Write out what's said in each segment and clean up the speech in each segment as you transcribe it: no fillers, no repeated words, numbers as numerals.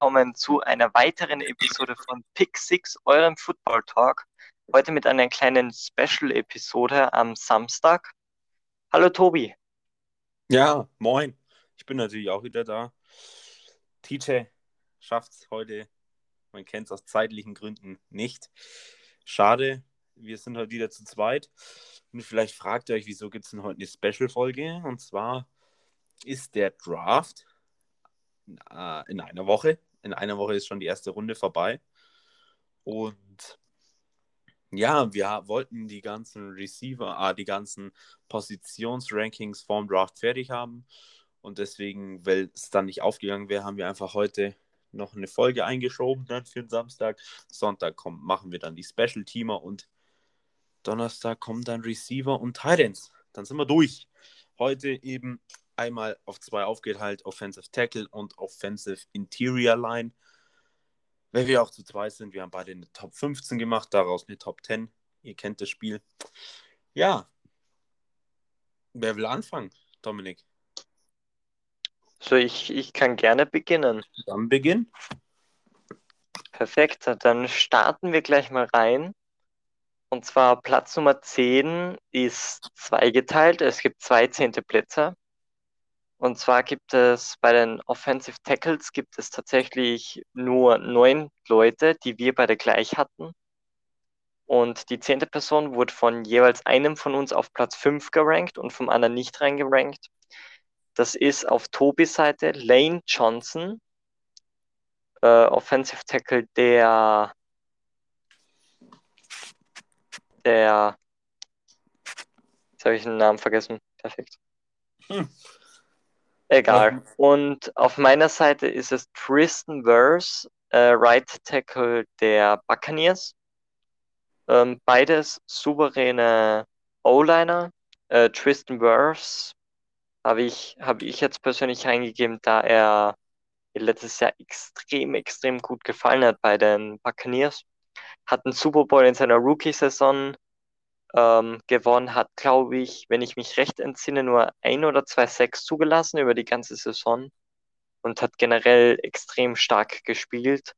willkommen zu einer weiteren Episode von Pick Six, eurem Football Talk. Heute mit einer kleinen Special-Episode am Samstag. Hallo Tobi. Ja, moin. Ich bin natürlich auch wieder da. TJ schafft es heute, man kennt es aus zeitlichen Gründen nicht. Schade, wir sind heute wieder zu zweit. Und vielleicht fragt ihr euch, wieso gibt es denn heute eine Special-Folge? Und zwar ist der Draft in einer Woche. In einer Woche ist schon die erste Runde vorbei. Und ja, wir wollten die ganzen die ganzen Positionsrankings vorm Draft fertig haben. Und deswegen, weil es dann nicht aufgegangen wäre, haben wir einfach heute noch eine Folge eingeschoben, dann für den Samstag. Sonntag machen wir dann die Special-Teamer und Donnerstag kommen dann Receiver und Tight Ends. Dann sind wir durch. Heute eben einmal auf 2 aufgeteilt, Offensive Tackle und Offensive Interior Line. Weil wir auch zu zweit sind, wir haben beide eine Top 15 gemacht, daraus eine Top 10. Ihr kennt das Spiel. Ja, wer will anfangen, Dominik? So, ich kann gerne beginnen. Dann Beginn. Perfekt, dann starten wir gleich mal rein. Und zwar Platz Nummer 10 ist zweigeteilt. Es gibt 2 zehnte Plätze. Und zwar gibt es bei den Offensive Tackles gibt es tatsächlich nur 9 Leute, die wir beide gleich hatten. Und die 10. Person wurde von jeweils einem von uns auf Platz 5 gerankt und vom anderen nicht reingerankt. Das ist auf Tobis Seite Lane Johnson, Offensive Tackle jetzt habe ich den Namen vergessen. Perfekt. Egal. Und auf meiner Seite ist es Tristan Wirfs, Right Tackle der Buccaneers. Beides souveräne O-Liner. Tristan Wirfs habe ich jetzt persönlich reingegeben, da er letztes Jahr extrem gut gefallen hat bei den Buccaneers. Hat einen Super Bowl in seiner Rookie-Saison gewonnen, hat, glaube ich, wenn ich mich recht entsinne, nur 1 oder 2 Sacks zugelassen über die ganze Saison und hat generell extrem stark gespielt.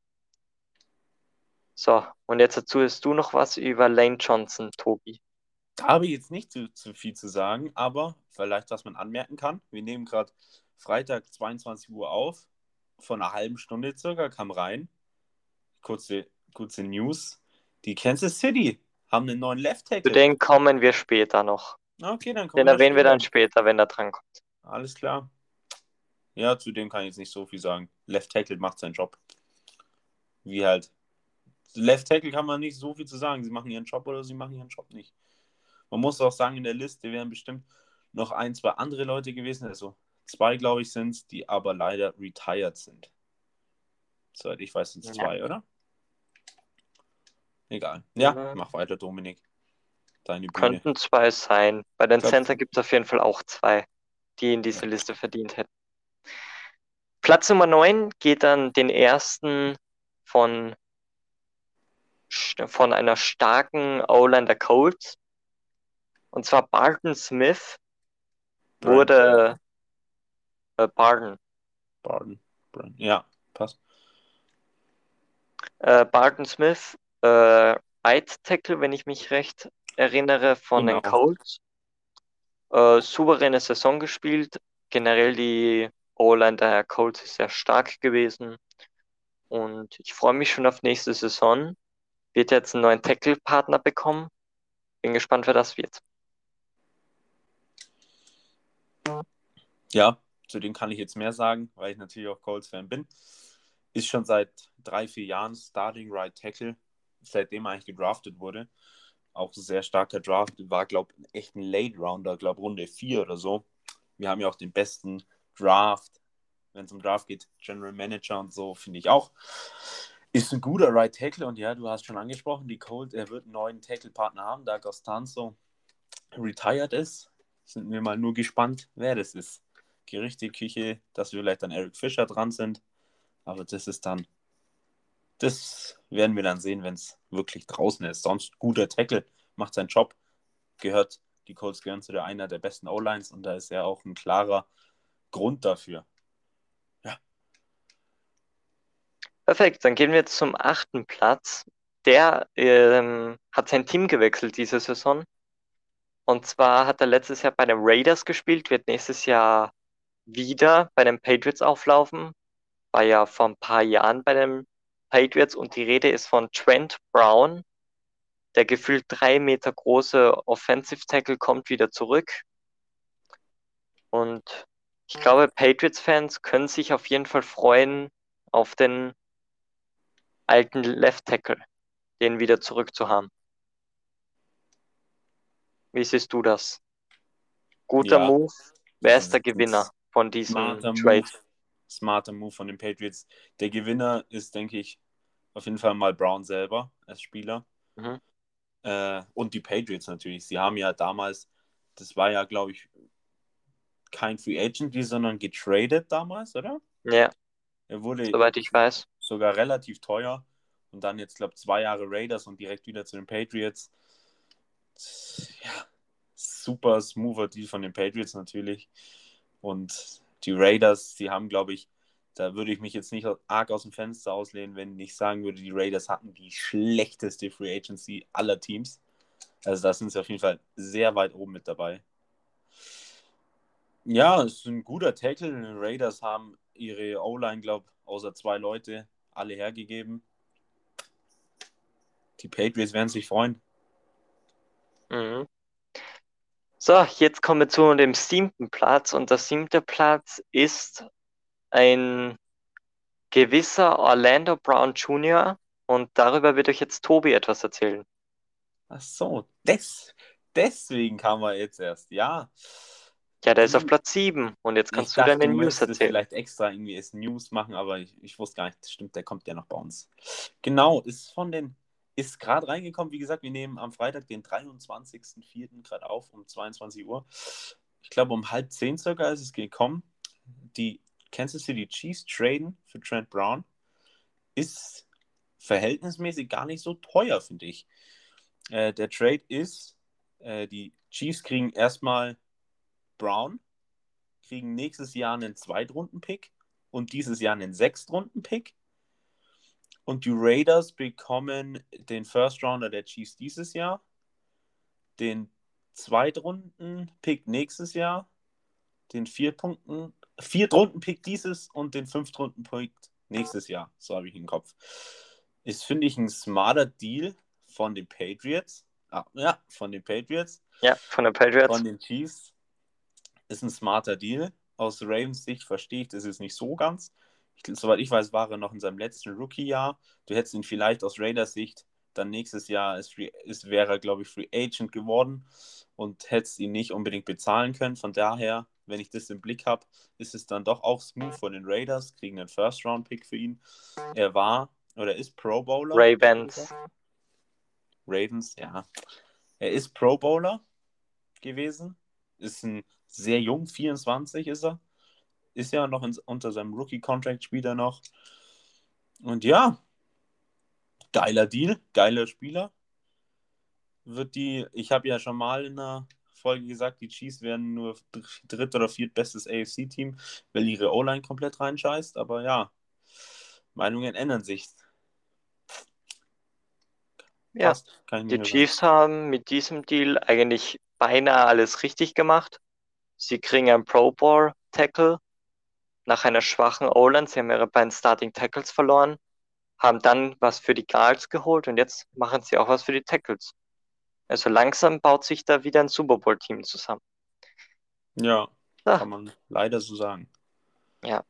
So, und jetzt dazu hast du noch was über Lane Johnson, Tobi. Da habe ich jetzt nicht zu viel zu sagen, aber vielleicht, was man anmerken kann. Wir nehmen gerade Freitag 22 Uhr auf. Vor einer halben Stunde circa kam rein. Kurze News. Die Kansas City haben einen neuen Left Zu Tackle. denen kommen wir später noch. Okay, dann kommen Den wir da erwähnen wir später. dann später, wenn er drankommt. Alles klar. Ja, zu dem kann ich jetzt nicht so viel sagen. Left Tackle macht seinen Job. Wie halt. Left Tackle kann man nicht so viel zu sagen. Sie machen ihren Job oder sie machen ihren Job nicht. Man muss auch sagen, in der Liste wären bestimmt noch 1, 2 andere Leute gewesen. Also 2, glaube ich, sind es, die aber leider retired sind. Soweit ich weiß, sind es Ja. 2, oder? Egal. Ja, Ja, mach weiter, Dominik. Deine Bühne. könnten 2 sein. Bei den Glaub, Center gibt es auf jeden Fall auch 2, die in diese Liste verdient hätten. Platz Nummer 9 geht dann den ersten von, von einer starken O-Line der Colts. Und zwar Barton Smith wurde Barton. Barton. Ja, passt. Barton Smith, Right Tackle, wenn ich mich recht erinnere, von den Genau. Colts. Souveräne Saison gespielt. Generell die O-Line der Colts ist sehr stark gewesen. Und ich freue mich schon auf nächste Saison. Wird jetzt einen neuen Tackle-Partner bekommen. Bin gespannt, wer das wird. Ja, zu dem kann ich jetzt mehr sagen, weil ich natürlich auch Colts-Fan bin. Ist schon seit 3, 4 Jahren Starting Right Tackle, seitdem er eigentlich gedraftet wurde. Auch ein sehr starker Draft. War, glaube ich, echt ein Late Rounder, glaube Runde 4 oder so. Wir haben ja auch den besten Draft, wenn es um Draft geht, General Manager und so, finde ich auch. Ist ein guter Right Tackle und ja, du hast schon angesprochen, die Colts, er wird einen neuen Tackle-Partner haben, da Costanzo retired ist. Sind wir mal nur gespannt, wer das ist. Gerüchteküche, dass wir vielleicht dann Eric Fischer dran sind, aber das werden wir dann sehen, wenn es wirklich draußen ist. Sonst guter Tackle, macht seinen Job, die Colts gehören zu einer der besten O-Lines und da ist ja auch ein klarer Grund dafür. Ja. Perfekt, dann gehen wir jetzt zum 8. Platz. Der hat sein Team gewechselt diese Saison. Und zwar hat er letztes Jahr bei den Raiders gespielt, wird nächstes Jahr wieder bei den Patriots auflaufen. War ja vor ein paar Jahren bei den Patriots und die Rede ist von Trent Brown. Der gefühlt 3 Meter große Offensive Tackle kommt wieder zurück. Und ich glaube, Patriots-Fans können sich auf jeden Fall freuen auf den alten Left Tackle, den wieder zurück zu haben. Wie siehst du das? Guter Ja, Move. Wer das ist der ist ein Gewinner von diesem smarter Move. Trade? Smarter Move von den Patriots. Der Gewinner ist, denke ich, auf jeden Fall mal Brown selber als Spieler. Mhm. Und die Patriots natürlich. Sie haben ja damals, das war ja, glaube ich, kein Free Agent, sondern getradet damals, oder? Ja, Er wurde soweit ich weiß. sogar relativ teuer und dann jetzt, glaube ich, 2 Jahre Raiders und direkt wieder zu den Patriots. Ja, super smoother Deal von den Patriots natürlich. Und die Raiders, die haben, glaube ich, da würde ich mich jetzt nicht arg aus dem Fenster auslehnen, wenn ich sagen würde, die Raiders hatten die schlechteste Free Agency aller Teams. Also da sind sie auf jeden Fall sehr weit oben mit dabei. Ja, es ist ein guter Tackle. Die Raiders haben ihre O-Line, glaube ich, außer 2 Leute, alle hergegeben. Die Patriots werden sich freuen. Mhm. So, jetzt kommen wir zu dem 7. Platz und der 7. Platz ist ein gewisser Orlando Brown Jr. und darüber wird euch jetzt Tobi etwas erzählen. Ach so, deswegen kam er jetzt erst. Ja, Ja, der ist auf du, Platz 7 und jetzt ich kannst du dachte, deine du News möchtest es erzählen. vielleicht extra irgendwie als News machen, aber ich wusste gar nicht, das stimmt, der kommt ja noch bei uns. Genau, ist gerade reingekommen. Wie gesagt, wir nehmen am Freitag, den 23.04. gerade auf, um 22 Uhr. Ich glaube, um 9:30 circa ist es gekommen. Die Kansas City Chiefs traden für Trent Brown. Ist verhältnismäßig gar nicht so teuer, finde ich. Der Trade ist, die Chiefs kriegen erstmal Brown, kriegen nächstes Jahr einen Zweitrunden-Pick und dieses Jahr einen Sechstrunden-Pick. Und die Raiders bekommen den First Rounder der Chiefs dieses Jahr, den Zweitrunden-Pick nächstes Jahr, den Viertrunden-Pick dieses und den Fünftrunden-Pick nächstes Jahr. So habe ich im Kopf. Ist, finde ich, ein smarter Deal von den Patriots. Ja, von den Patriots. Ja, von den Patriots. Von den Chiefs ist ein smarter Deal. Aus Ravens Sicht verstehe ich das jetzt nicht so ganz. Soweit ich weiß, war er noch in seinem letzten Rookie-Jahr. Du hättest ihn vielleicht aus Raiders Sicht dann nächstes Jahr wäre er, glaube ich, Free Agent geworden und hättest ihn nicht unbedingt bezahlen können. Von daher, wenn ich das im Blick habe, ist es dann doch auch smooth von den Raiders, kriegen einen First-Round-Pick für ihn. Er war oder ist Pro Bowler. Ravens. Ravens, ja. Er ist Pro Bowler gewesen. Ist ein sehr jung, 24 ist er. Ist ja noch unter seinem Rookie-Contract, spielt er noch. Und ja, geiler Deal, geiler Spieler. Ich habe ja schon mal in einer Folge gesagt, die Chiefs werden nur dritt- oder viertbestes AFC-Team, weil ihre O-Line komplett reinscheißt. Aber ja, Meinungen ändern sich. Ja, Passt, kann ich nicht die mehr sagen. Chiefs haben mit diesem Deal eigentlich beinahe alles richtig gemacht. Sie kriegen einen Pro Bowl Tackle nach einer schwachen O-Line. Sie haben ihre beiden Starting Tackles verloren, haben dann was für die Guards geholt und jetzt machen sie auch was für die Tackles. Also langsam baut sich da wieder ein Super Bowl Team zusammen. Ja, So, kann man leider so sagen. ja.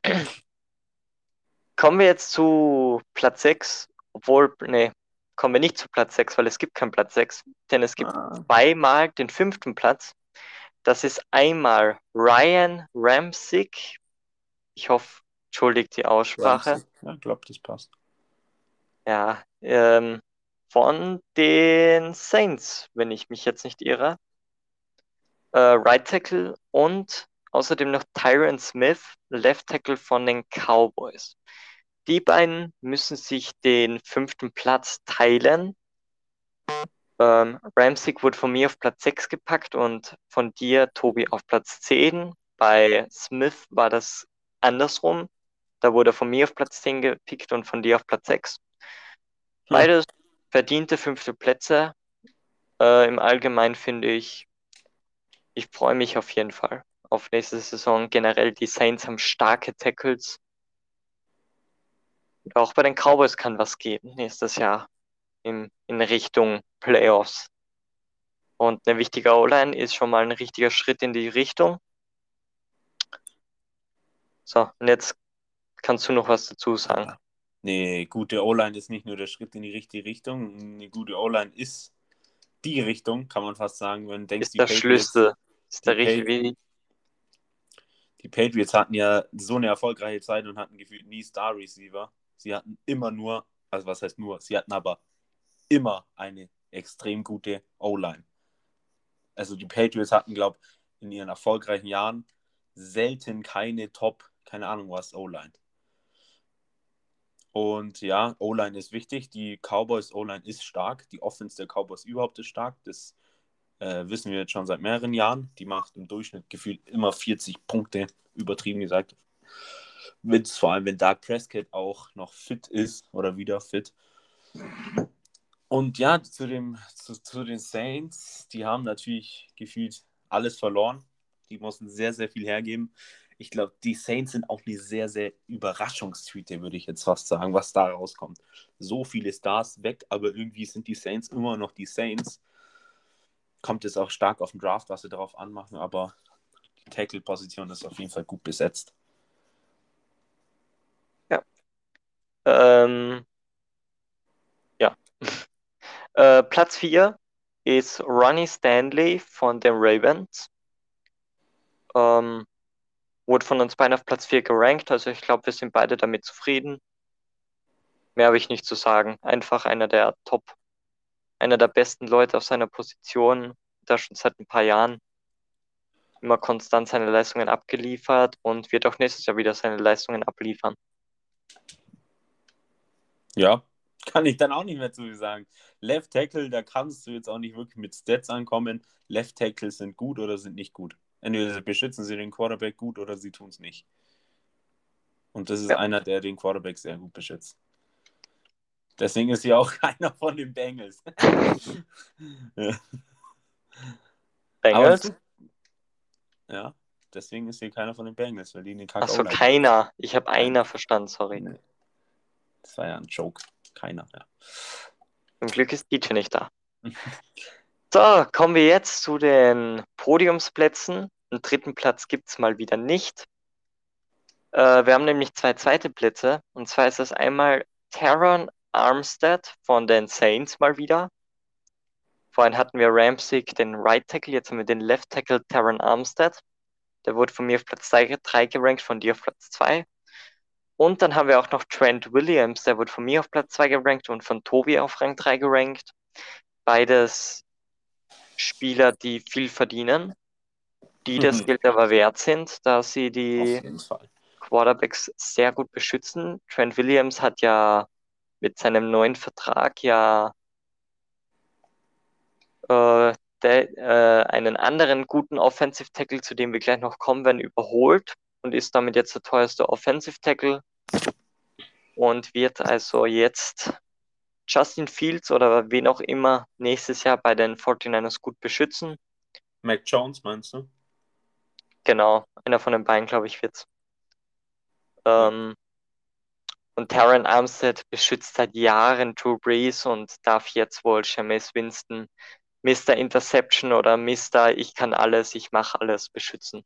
Kommen wir jetzt zu Platz 6, obwohl, nee, kommen wir nicht zu Platz 6, weil es gibt keinen Platz 6, denn es gibt Ah, zweimal den 5. Platz. Das ist einmal Ryan Ramczyk. Ich hoffe, entschuldigt die Aussprache. Ramsey. Ja, ich glaube, das passt. Ja, von den Saints, wenn ich mich jetzt nicht irre. Right Tackle und außerdem noch Tyron Smith, Left Tackle von den Cowboys. Die beiden müssen sich den 5. Platz teilen. Ramsey wurde von mir auf Platz 6 gepackt und von dir, Tobi, auf Platz 10. Bei Smith war das andersrum. Da wurde er von mir auf Platz 10 gepickt und von dir auf Platz 6. Hm. Beides verdiente 5. Plätze. Im Allgemeinen finde ich freue mich auf jeden Fall auf nächste Saison. Generell, die Saints haben starke Tackles. Und auch bei den Cowboys kann was gehen nächstes Jahr in Richtung Playoffs. Und eine wichtige O-Line ist schon mal ein richtiger Schritt in die Richtung. So, und jetzt kannst du noch was dazu sagen. Eine gute O-Line ist nicht nur der Schritt in die richtige Richtung. Eine gute O-Line ist die Richtung, kann man fast sagen. Wenn du denkst, Ist der Schlüssel, ist die, der Pa- richtige. die Patriots hatten ja so eine erfolgreiche Zeit und hatten gefühlt nie Star-Receiver. Sie hatten immer nur, also was heißt nur, sie hatten aber immer eine extrem gute O-Line. Also die Patriots hatten, glaube ich, in ihren erfolgreichen Jahren selten keine Top, keine Ahnung was, O-Line. Und ja, O-Line ist wichtig. Die Cowboys O-Line ist stark. Die Offense der Cowboys überhaupt ist stark. Das wissen wir jetzt schon seit mehreren Jahren. Die macht im Durchschnitt gefühlt immer 40 Punkte, übertrieben gesagt. Vor allem, wenn Dak Prescott auch noch fit ist oder wieder fit. Und ja, zu den Saints, die haben natürlich gefühlt alles verloren. Die mussten sehr, sehr viel hergeben. Ich glaube, die Saints sind auch eine sehr, sehr Überraschungstüte, würde ich jetzt fast sagen, was da rauskommt. So viele Stars weg, aber irgendwie sind die Saints immer noch die Saints. Kommt jetzt auch stark auf den Draft, was sie darauf anmachen, aber die Tackle-Position ist auf jeden Fall gut besetzt. Ja. Ja. Platz 4 ist Ronnie Stanley von den Ravens. Wurde von uns beiden auf Platz 4 gerankt, also ich glaube, wir sind beide damit zufrieden. Mehr habe ich nicht zu sagen. Einfach einer der besten Leute auf seiner Position, da schon seit ein paar Jahren immer konstant seine Leistungen abgeliefert und wird auch nächstes Jahr wieder seine Leistungen abliefern. Ja, kann ich dann auch nicht mehr zu viel sagen. Left Tackle, da kannst du jetzt auch nicht wirklich mit Stats ankommen. Left Tackles sind gut oder sind nicht gut. Entweder beschützen sie den Quarterback gut oder sie tun es nicht. Und das ist Ja, einer, der den Quarterback sehr gut beschützt. Deswegen ist ja auch keiner von den Bengals. Ja. Aber Bengals? so, ja, deswegen ist hier keiner von den Bengals, weil die eine Ach kack so, O-Line haben. keiner. Ich habe Nein, einer verstanden, sorry. nee, das war ja ein Joke. Keiner, ja. Zum Glück ist DJ nicht da. So, kommen wir jetzt zu den Podiumsplätzen. Einen 3. Platz gibt es mal wieder nicht. Wir haben nämlich 2 zweite Plätze. Und zwar ist das einmal Teron Armstead von den Saints mal wieder. Vorhin hatten wir Ramczyk, den Right Tackle, jetzt haben wir den Left Tackle Teron Armstead. Der wurde von mir auf Platz 3 gerankt, von dir auf Platz 2. Und dann haben wir auch noch Trent Williams, der wurde von mir auf Platz 2 gerankt und von Tobi auf Rang 3 gerankt. Beides Spieler, die viel verdienen, die das Geld aber wert sind, da sie Auf die jeden Fall. Quarterbacks sehr gut beschützen. Trent Williams hat ja mit seinem neuen Vertrag ja einen anderen guten Offensive Tackle, zu dem wir gleich noch kommen werden, überholt und ist damit jetzt der teuerste Offensive Tackle und wird also jetzt Justin Fields oder wen auch immer nächstes Jahr bei den 49ers gut beschützen. Mac Jones, meinst du? Genau, einer von den beiden, glaube ich, wird's. Ja. Ähm, und Taron Armstead beschützt seit Jahren Drew Brees und darf jetzt wohl Jameis Winston Mr. Interception oder Mr. Ich kann alles, ich mache alles beschützen.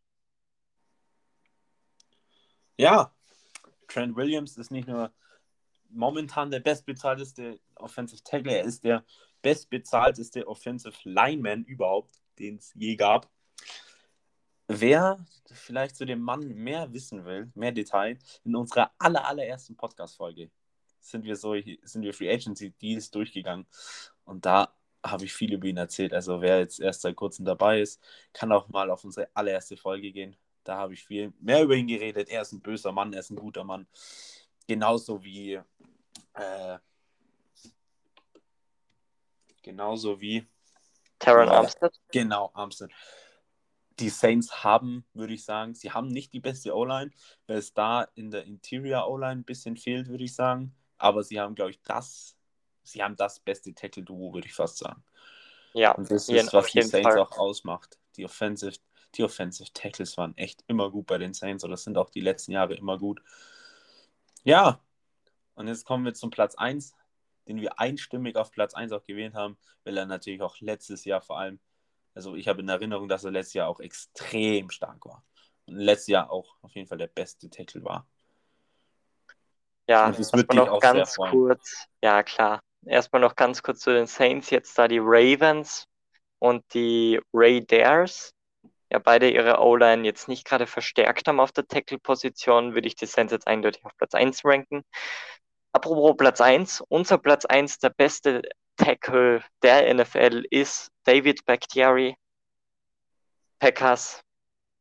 Ja, Trent Williams ist nicht nur momentan der bestbezahlteste Offensive Tackle, er ist der bestbezahlteste Offensive Lineman überhaupt, den es je gab. Wer vielleicht zu dem Mann mehr wissen will, mehr Detail, in unserer allerersten Podcast-Folge sind wir Free Agency Deals durchgegangen und da habe ich viel über ihn erzählt. Also wer jetzt erst seit kurzem dabei ist, kann auch mal auf unsere allererste Folge gehen. Da habe ich viel mehr über ihn geredet. Er ist ein böser Mann, er ist ein guter Mann. Genauso wie genauso wie Taron war der? Armstead? Genau, Armstead. Die Saints haben, würde ich sagen, sie haben nicht die beste O-Line, weil es da in der Interior O-Line ein bisschen fehlt, würde ich sagen. Aber sie haben, glaube ich, sie haben das beste Tackle-Duo, würde ich fast sagen. Ja, Und das ist, auf was die jeden Saints Fall. auch ausmacht. Die Offensive Tackles waren echt immer gut bei den Saints oder sind auch die letzten Jahre immer gut. Ja, und jetzt kommen wir zum Platz 1, den wir einstimmig auf Platz 1 auch gewählt haben, weil er natürlich auch letztes Jahr vor allem, also ich habe in Erinnerung, dass er letztes Jahr auch extrem stark war. Und letztes Jahr auch auf jeden Fall der beste Tackle war. Ja, Und das wird erstmal dich noch auch sehr ganz freuen. kurz, ja klar, erstmal noch ganz kurz zu den Saints, jetzt da die Ravens und die Raiders, ja beide ihre O-Line jetzt nicht gerade verstärkt haben auf der Tackle-Position, würde ich die Saints jetzt eindeutig auf Platz 1 ranken. Apropos Platz 1, unser Platz 1, der beste Tackle der NFL ist David Bakhtiari, Packers.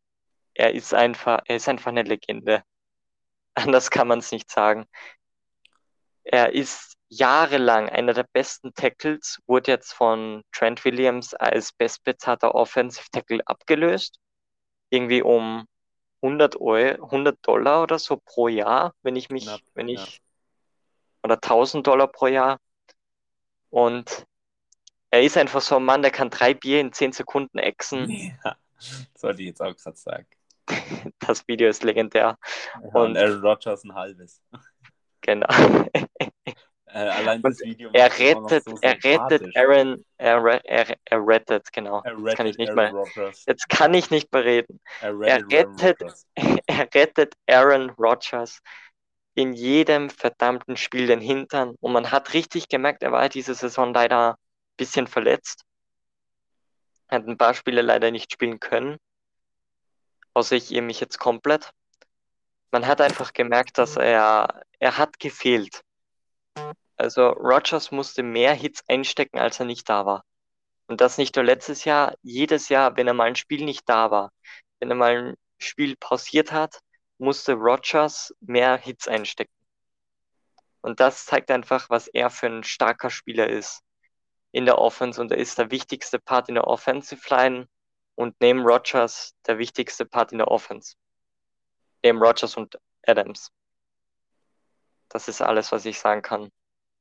Er ist einfach eine Legende. Anders kann man es nicht sagen. Er ist jahrelang einer der besten Tackles, wurde jetzt von Trent Williams als bestbezahlter Offensive Tackle abgelöst. Irgendwie um 100 Dollar oder so pro Jahr, Knapp, ja. oder 1000 Dollar pro Jahr. Und er ist einfach so ein Mann, der kann 3 Bier in 10 Sekunden exen. Ja, das wollte ich jetzt auch gerade sagen. Das Video ist legendär. Ja, und Und Aaron Rodgers ein halbes. genau. Allein Und das Video macht ihn auch noch so er rettet sympathisch. Aaron, er rettet, genau. Er rettet Aaron Rodgers. Jetzt kann ich nicht mehr reden. Er Er rettet Aaron rettet, Rodgers. er rettet Aaron Rodgers in jedem verdammten Spiel den Hintern. Und man hat richtig gemerkt, er war diese Saison leider ein bisschen verletzt. Hat ein paar Spiele leider nicht spielen können. Außer ich irre mich jetzt komplett. Man hat einfach gemerkt, dass er hat gefehlt. Also Rodgers musste mehr Hits einstecken, als er nicht da war. Und das nicht nur letztes Jahr, jedes Jahr, wenn er mal ein Spiel nicht da war, wenn er mal ein Spiel pausiert hat, musste Rodgers mehr Hits einstecken. Und das zeigt einfach, was er für ein starker Spieler ist in der Offense. Und er ist der wichtigste Part in der Offensive Line und neben Rodgers der wichtigste Part in der Offense. Neben Rodgers und Adams. Das ist alles, was ich sagen kann.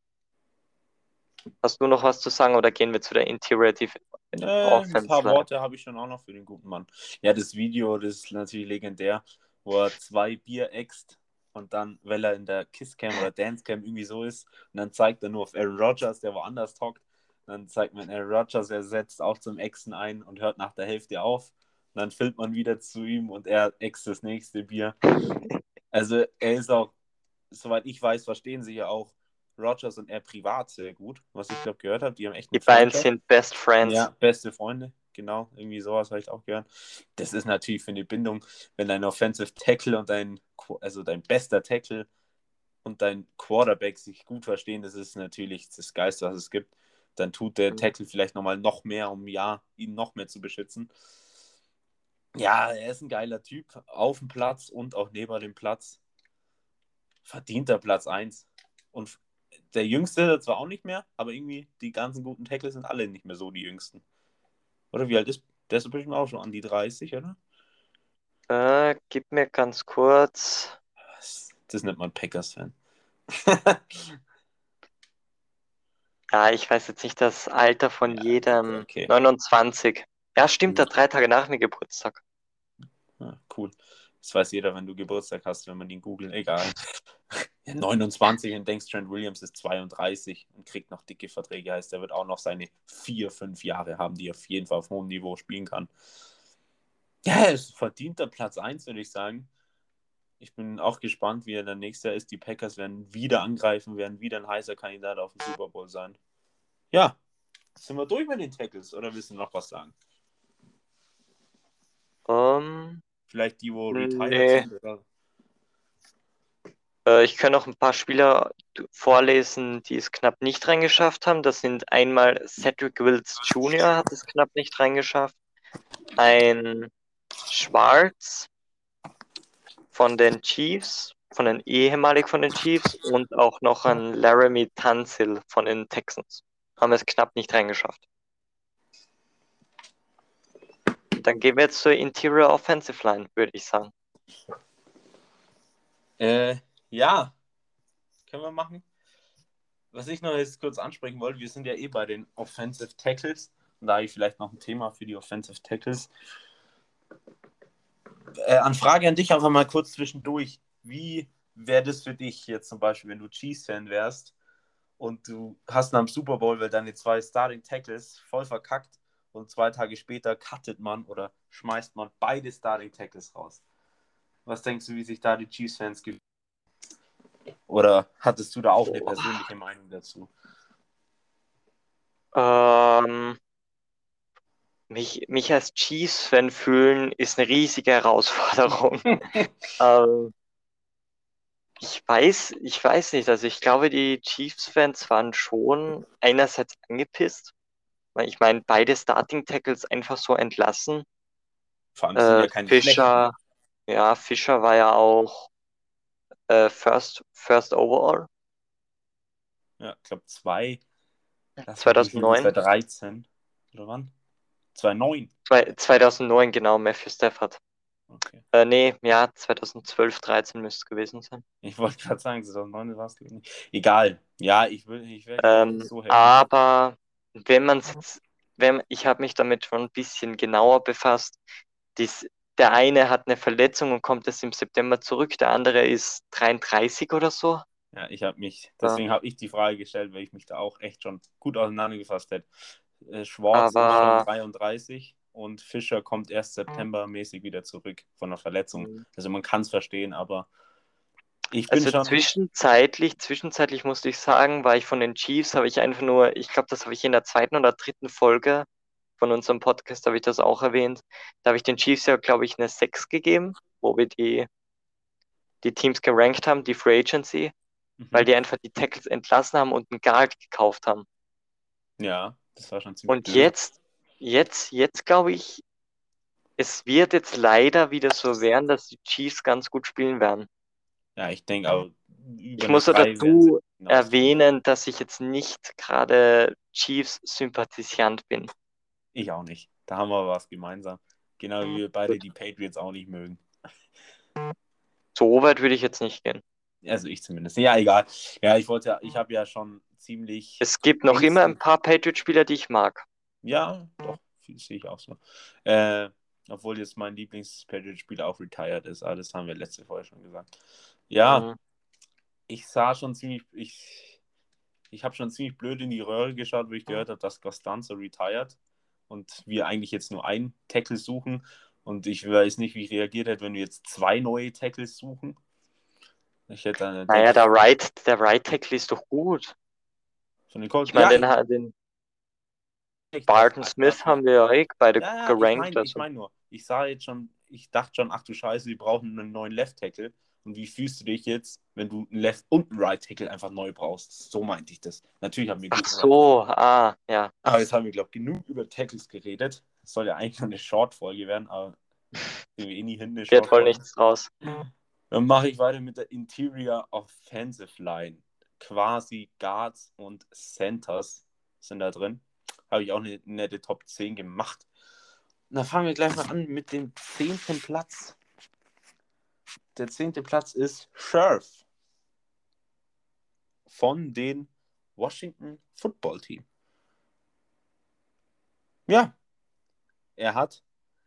Hast du noch was zu sagen oder gehen wir zu der Interior Ein Offense paar Line? Worte habe ich schon auch noch für den guten Mann. Ja, das Video, das ist natürlich legendär, wo er 2 Bier äxt und dann, weil er in der Kisscam oder Dancecam irgendwie so ist, und dann zeigt er nur auf Aaron Rodgers, der woanders hockt. Dann zeigt man Aaron Rodgers, er setzt auch zum Ächzen ein und hört nach der Hälfte auf. Und dann filmt man wieder zu ihm und er äxt das nächste Bier. Also er ist auch, soweit ich weiß, verstehen sich ja auch Rodgers und er privat sehr gut, was ich glaube gehört habe. Die haben echt Die eine beiden Freundschaft. sind Best Friends. Ja, beste Freunde, genau, irgendwie sowas habe ich auch gehört. Das ist natürlich für eine Bindung, wenn dein Offensive Tackle und also dein bester Tackle und dein Quarterback sich gut verstehen, das ist natürlich das Geilste, was es gibt. Dann tut der Tackle vielleicht noch mehr, um ja, ihn noch mehr zu beschützen. Ja, er ist ein geiler Typ, auf dem Platz und auch neben dem Platz. Verdienter Platz 1. Und der Jüngste zwar auch nicht mehr, aber irgendwie die ganzen guten Tackles sind alle nicht mehr so die Jüngsten. Oder wie alt ist der? Ist bestimmt auch schon an die 30, oder? Gib mir ganz kurz. Das nennt man Packers-Fan. Ja, ich weiß jetzt nicht das Alter von Ja, jedem. okay. 29. Ja, stimmt, der Gut. 3 Tage nach mir Geburtstag. Ja, cool. Das weiß jeder, wenn du Geburtstag hast, wenn man ihn googelt. Egal. Ja, 29 und denkst, Trent Williams ist 32 und kriegt noch dicke Verträge. Heißt, er wird auch noch seine 4, 5 Jahre haben, die er auf jeden Fall auf hohem Niveau spielen kann. Ja, er ist verdienter Platz 1, würde ich sagen. Ich bin auch gespannt, wie er dann nächstes Jahr ist. Die Packers werden wieder angreifen, werden wieder ein heißer Kandidat auf den Super Bowl sein. Ja, sind wir durch mit den Tackles oder willst du noch was sagen? Vielleicht die, wo retired Nee. sind? Oder? Ich kann noch ein paar Spieler vorlesen, die es knapp nicht reingeschafft haben. Das sind einmal Cedric Wills Jr. hat es knapp nicht reingeschafft. Ein Schwarz von den Chiefs, ehemalig von den Chiefs und auch noch ein Laramie Tunsil von den Texans. Haben es knapp nicht reingeschafft. dann gehen wir jetzt zur Interior Offensive Line, würde ich sagen. Ja, können wir machen. Was ich noch jetzt kurz ansprechen wollte, wir sind ja bei den Offensive Tackles. Und da habe ich vielleicht noch ein Thema für die Offensive Tackles. Frage an dich einfach mal kurz zwischendurch. Wie wäre das für dich jetzt zum Beispiel, wenn du Chiefs-Fan wärst und du hast nach dem Super Bowl, weil deine 2 Starting Tackles voll verkackt und 2 Tage später cuttet man oder schmeißt man beide Starting Tackles raus? Was denkst du, wie sich da die Chiefs-Fans gefühlt? Oder hattest du da auch eine persönliche Meinung dazu? Mich als Chiefs-Fan fühlen ist eine riesige Herausforderung. Ich weiß nicht, also ich glaube, die Chiefs-Fans waren schon einerseits angepisst, weil ich meine, beide Starting-Tackles einfach so entlassen. Vor allem sind ja keine Fischer, ja, Fischer war ja auch First Overall. Ja, ich glaube 2009. 2013 oder wann? 2009. 2009, genau, Matthew Stafford. Okay. Nee, ja, 2012, 13 müsste es gewesen sein. Ich wollte gerade sagen, 2009 war es nicht. Egal. Ja, ich wäre so happy. Aber ich habe mich damit schon ein bisschen genauer befasst. Der eine hat eine Verletzung und kommt erst im September zurück, der andere ist 33 oder so. Ja, deswegen habe ich die Frage gestellt, weil ich mich da auch echt schon gut auseinandergefasst hätte. Schwartz ist schon 33 und Fischer kommt erst septembermäßig wieder zurück von der Verletzung. Also man kann es verstehen, aber ich bin schon... Zwischenzeitlich musste ich sagen, war ich von den Chiefs, habe ich einfach nur, ich glaube, das habe ich in der 2. oder 3. Folge von unserem Podcast, habe ich das auch erwähnt. Da habe ich den Chiefs ja, glaube ich, eine 6 gegeben, wo wir die Teams gerankt haben, die Free Agency, weil die einfach die Tackles entlassen haben und einen Guard gekauft haben. Ja, das war schon ziemlich Und blöd. jetzt glaube ich, es wird jetzt leider wieder so werden, dass die Chiefs ganz gut spielen werden. Ja, ich denke auch. Ich muss dazu erwähnen, dass ich jetzt nicht gerade Chiefs-Sympathisant bin. Ich auch nicht. Da haben wir was gemeinsam. Genau wie wir beide die Patriots auch nicht mögen. So weit würde ich jetzt nicht gehen. Also ich zumindest. Ja, egal. Ja, ich habe ja schon ziemlich... Es gibt noch immer ein paar Patriot-Spieler, die ich mag. Ja, doch, sehe ich auch so. Obwohl jetzt mein Lieblings-Patriot-Spieler auch retired ist, aber das haben wir letzte Folge schon gesagt. Ja, ich habe schon ziemlich blöd in die Röhre geschaut, wo ich gehört habe, dass Costanzo retired und wir eigentlich jetzt nur einen Tackle suchen und ich weiß nicht, wie ich reagiert hätte, wenn wir jetzt 2 neue Tackles suchen. Naja, der Right Tackle ist doch gut. Von den Colts. Ich meine, den Barton Smith haben wir ja beide gerankt. Ich meine nur, ich dachte schon, ach du Scheiße, wir brauchen einen neuen Left Tackle. Und wie fühlst du dich jetzt, wenn du einen Left und einen Right Tackle einfach neu brauchst? So meinte ich das. Natürlich haben wir ja. Aber jetzt haben wir, glaube ich, genug über Tackles geredet. Das soll ja eigentlich nur eine Short-Folge werden, aber wir nie hin. Wird voll nichts draus. Dann mache ich weiter mit der Interior Offensive Line. Quasi Guards und Centers sind da drin. Habe ich auch eine nette Top 10 gemacht. Und dann fangen wir gleich mal an mit dem 10. Platz. Der 10. Platz ist Scherf von den Washington Football Team. Ja, er hat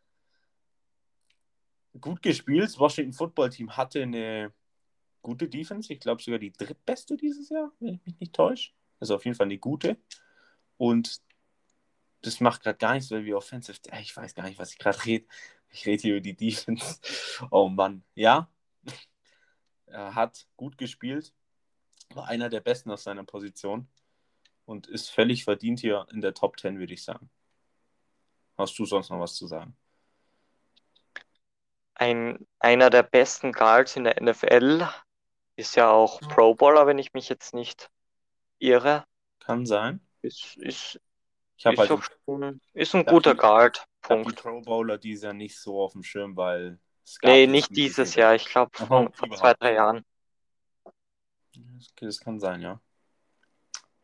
gut gespielt. Das Washington Football Team hatte eine gute Defense. Ich glaube sogar die drittbeste dieses Jahr, wenn ich mich nicht täusche. Also auf jeden Fall eine gute. Und das macht gerade gar nichts, weil wir Offensive... Ich weiß gar nicht, was ich gerade rede. Ich rede hier über die Defense. Oh Mann. Ja, er hat gut gespielt. War einer der Besten aus seiner Position. Und ist völlig verdient hier in der Top 10, würde ich sagen. Hast du sonst noch was zu sagen? Einer der besten Guards in der NFL ist ja auch Pro Bowler, wenn ich mich jetzt nicht irre. Kann sein. Ist ein guter Guard. Punkt. Ich habe die Pro Bowler dieses Jahr nicht so auf dem Schirm, weil es gab nicht dieses Jahr. Ich glaube vor 2, 3 Jahren. Das kann sein, ja.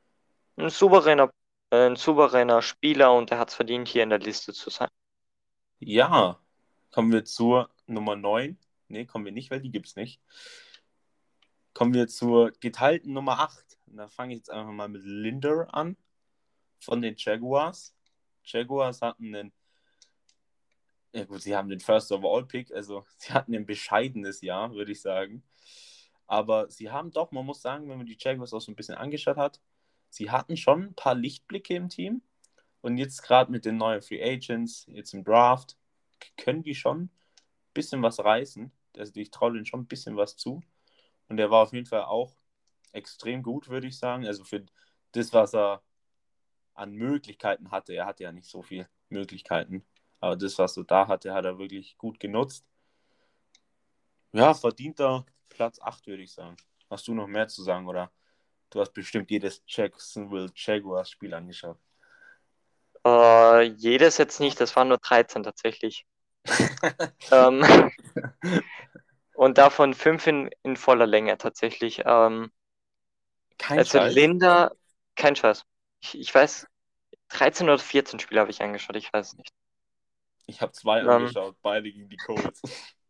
Ein souveräner Spieler und er hat es verdient, hier in der Liste zu sein. Ja, kommen wir zur Nummer 9. Ne, kommen wir nicht, weil die gibt's nicht. Kommen wir zur geteilten Nummer 8. Und da fange ich jetzt einfach mal mit Linder an von den Jaguars. Jaguars hatten einen, ja gut, sie haben den First Overall Pick, also sie hatten ein bescheidenes Jahr, würde ich sagen. Aber sie haben doch, man muss sagen, wenn man die Jaguars auch so ein bisschen angeschaut hat, sie hatten schon ein paar Lichtblicke im Team. Und jetzt gerade mit den neuen Free Agents, jetzt im Draft, können die schon ein bisschen was reißen. Also ich traue denen schon ein bisschen was zu. Und er war auf jeden Fall auch extrem gut, würde ich sagen. Also für das, was er an Möglichkeiten hatte. Er hatte ja nicht so viele Möglichkeiten. Aber das, was er da hatte, hat er wirklich gut genutzt. Ja, verdienter Platz 8, würde ich sagen. Hast du noch mehr zu sagen, oder? Du hast bestimmt jedes Jacksonville Jaguars Spiel angeschaut. Jedes jetzt nicht, das waren nur 13 tatsächlich. Ähm, und davon 5 in voller Länge tatsächlich. Kein Also Scheiß. Linda, kein Scheiß. Ich weiß, 13 oder 14 Spiele habe ich angeschaut, ich weiß nicht. Ich habe 2 Ähm, angeschaut, beide gegen die Colts.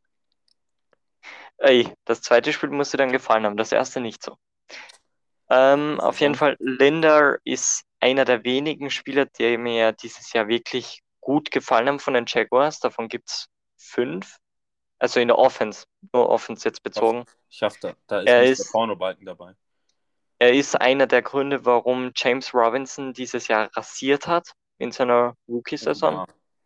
ey, das zweite Spiel musste dann gefallen haben, das erste nicht so. Was denn Auf jeden sonst? Fall, Linder ist einer der wenigen Spieler, die mir dieses Jahr wirklich gut gefallen haben von den Jaguars. Davon gibt es 5. Also in der Offense, nur Offense jetzt bezogen. Ich hoffe, da ist Er nicht der ist, Pornobalken dabei. er ist einer der Gründe, warum James Robinson dieses Jahr rasiert hat in seiner Oh Rookie-Saison. ja.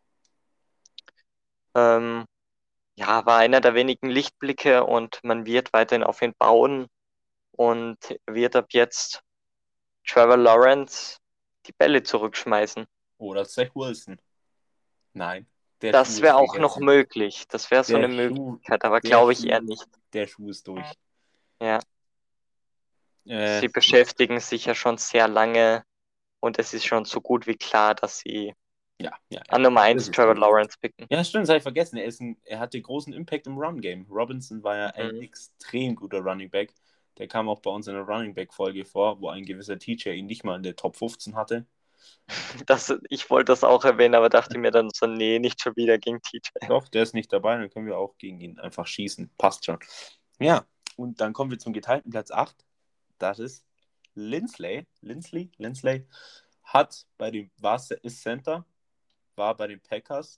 Ähm, ja, war einer der wenigen Lichtblicke und man wird weiterhin auf ihn bauen und wird ab jetzt Trevor Lawrence die Bälle zurückschmeißen. Oder Zach Wilson. Nein, der Schuh Das ist wäre auch noch gegessen. möglich. Das wäre so Der eine Schuh, Möglichkeit, aber der glaube ich eher Schuh, nicht. der Schuh ist durch. Ja, Äh, sie beschäftigen sich ja schon sehr lange und es ist schon so gut wie klar, dass sie ja, ja, ja. an Nummer Das eins ist Trevor durch. Lawrence picken. Ja, stimmt, das habe ich vergessen. Er hatte großen Impact im Run-Game. Robinson war ja ein Mhm. extrem guter Running Back. Der kam auch bei uns in der Running Back-Folge vor, wo ein gewisser Teacher ihn nicht mal in der Top 15 hatte. Ich wollte das auch erwähnen, aber dachte mir dann so, nee, nicht schon wieder gegen TJ. Doch, der ist nicht dabei, dann können wir auch gegen ihn einfach schießen. Passt schon. Ja, und dann kommen wir zum geteilten Platz 8. Das ist Lindsley. Lindsley hat ist Center, war bei den Packers.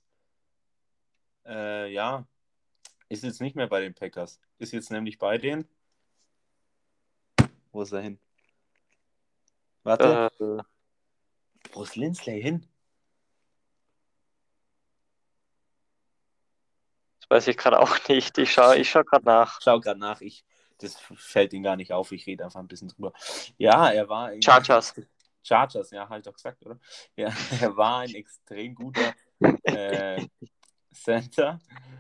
Ja, ist jetzt nicht mehr bei den Packers. Ist jetzt nämlich bei den. Wo ist er hin? Warte. Äh, Wo ist Lindsley hin? Das weiß ich gerade auch nicht. Ich schau gerade nach. Schau gerade nach. Das fällt ihm gar nicht auf. Ich rede einfach ein bisschen drüber. Ja, er war ein Chargers. Chargers, ja, halt doch gesagt, oder? Ja, er war ein extrem guter äh, Center.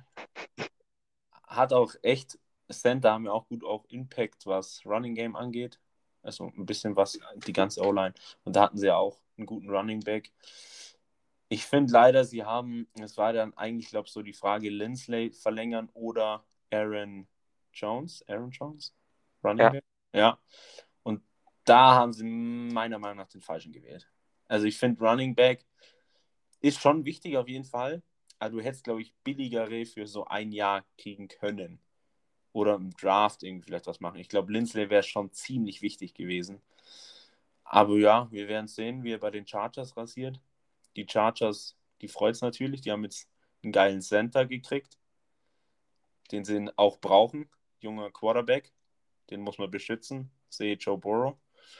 Hat auch echt, Center haben ja auch gut auch Impact, was Running Game angeht. Also ein bisschen was, die ganze O-Line. Und da hatten sie ja auch einen guten Running Back. Ich finde leider, es war dann eigentlich, glaube ich, so die Frage, Lindsley verlängern oder Aaron Jones. Aaron Jones? Running Ja, Back? Ja. Und da haben sie meiner Meinung nach den falschen gewählt. Also ich finde, Running Back ist schon wichtig auf jeden Fall. Aber du hättest, glaube ich, billigere für so ein Jahr kriegen können. Oder im Draft irgendwie vielleicht was machen. Ich glaube, Lindsley wäre schon ziemlich wichtig gewesen. Aber ja, wir werden sehen, wie er bei den Chargers rasiert. Die Chargers, die freut es natürlich. Die haben jetzt einen geilen Center gekriegt, den sie auch brauchen. Junger Quarterback, den muss man beschützen. Sehe Joe Burrow.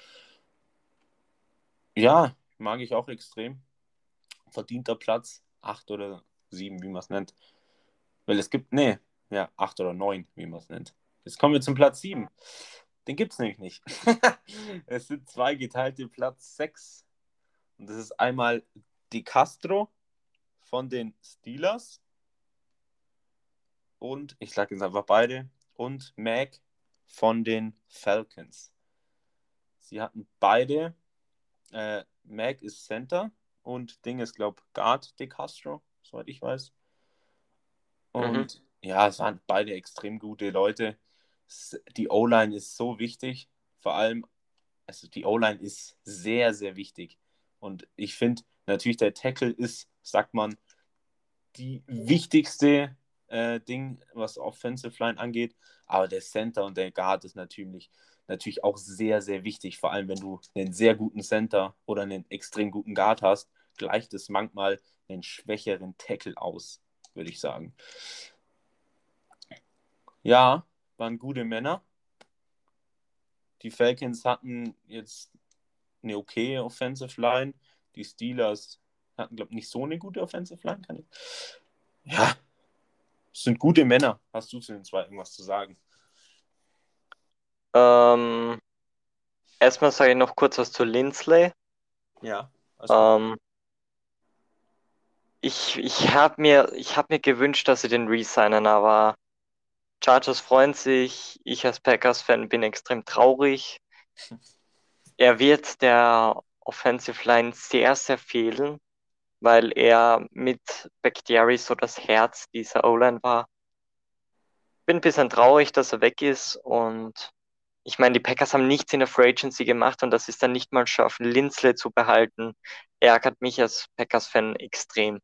Ja, mag ich auch extrem. Verdienter Platz 8 oder 7, wie man es nennt. Weil es gibt, nee, ja, 8 oder 9, wie man es nennt. Jetzt kommen wir zum Platz 7. Den gibt es nämlich nicht. Es sind zwei geteilte Platz 6. Und das ist einmal Di Castro von den Steelers und, ich sage jetzt einfach beide, und Mac von den Falcons. Sie hatten beide, Mac ist Center und Ding ist, glaube ich, Guard De Castro, soweit ich weiß. mhm. Und ja, es waren beide extrem gute Leute. Die O-Line ist so wichtig, vor allem, also die O-Line ist sehr, sehr wichtig. Und ich finde, natürlich der Tackle ist, sagt man, die wichtigste Ding, was Offensive Line angeht. Aber der Center und der Guard ist natürlich auch sehr, sehr wichtig. Vor allem, wenn du einen sehr guten Center oder einen extrem guten Guard hast, gleicht es manchmal einen schwächeren Tackle aus, würde ich sagen. Ja, waren gute Männer. Die Falcons hatten jetzt eine okay Offensive Line. Die Steelers hatten, glaube ich, nicht so eine gute Offensive Line. Ja, es sind gute Männer. Hast du zu den zwei irgendwas zu sagen? Ähm, Erstmal sage ich noch kurz was zu Lindsley. Ja, alles gut. Ähm, ich hab mir gewünscht, dass sie den resignen, aber Chargers freuen sich. Ich als Packers-Fan bin extrem traurig. Er wird der Offensive Line sehr, sehr fehlen, weil er mit Bakhtiari so das Herz dieser O-Line war. Bin ein bisschen traurig, dass er weg ist, und ich meine, die Packers haben nichts in der Free Agency gemacht, und das ist dann nicht mal schaffen, Linsley zu behalten. Ärgert mich als Packers-Fan extrem.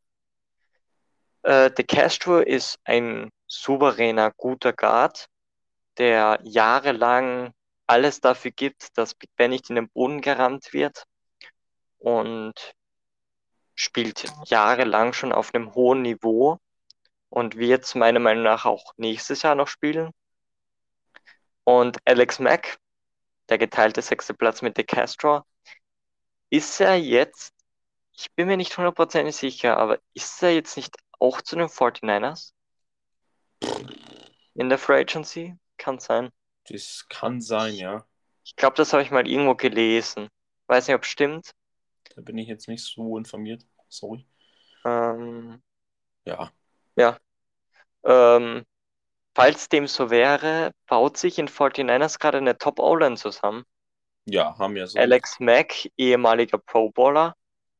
De Castro ist ein souveräner, guter Guard, der jahrelang alles dafür gibt, dass Big Ben nicht in den Boden gerammt wird, und spielt jahrelang schon auf einem hohen Niveau und wird meiner Meinung nach auch nächstes Jahr noch spielen. Und Alex Mack, der geteilte sechste Platz mit De Castro, ist er jetzt, ich bin mir nicht hundertprozentig sicher, aber ist er jetzt nicht auch zu den 49ers in der Free Agency? Kann sein. Das kann sein, Ich, ja. ich glaube, das habe ich mal irgendwo gelesen. Weiß nicht, ob es stimmt. Da bin ich jetzt nicht so informiert. Sorry. Ähm, Ja. ja. Ähm, Falls dem so wäre, baut sich in 49ers gerade eine Top-O-Line zusammen. Ja, haben ja so. Alex Mack, ehemaliger Pro Bowler,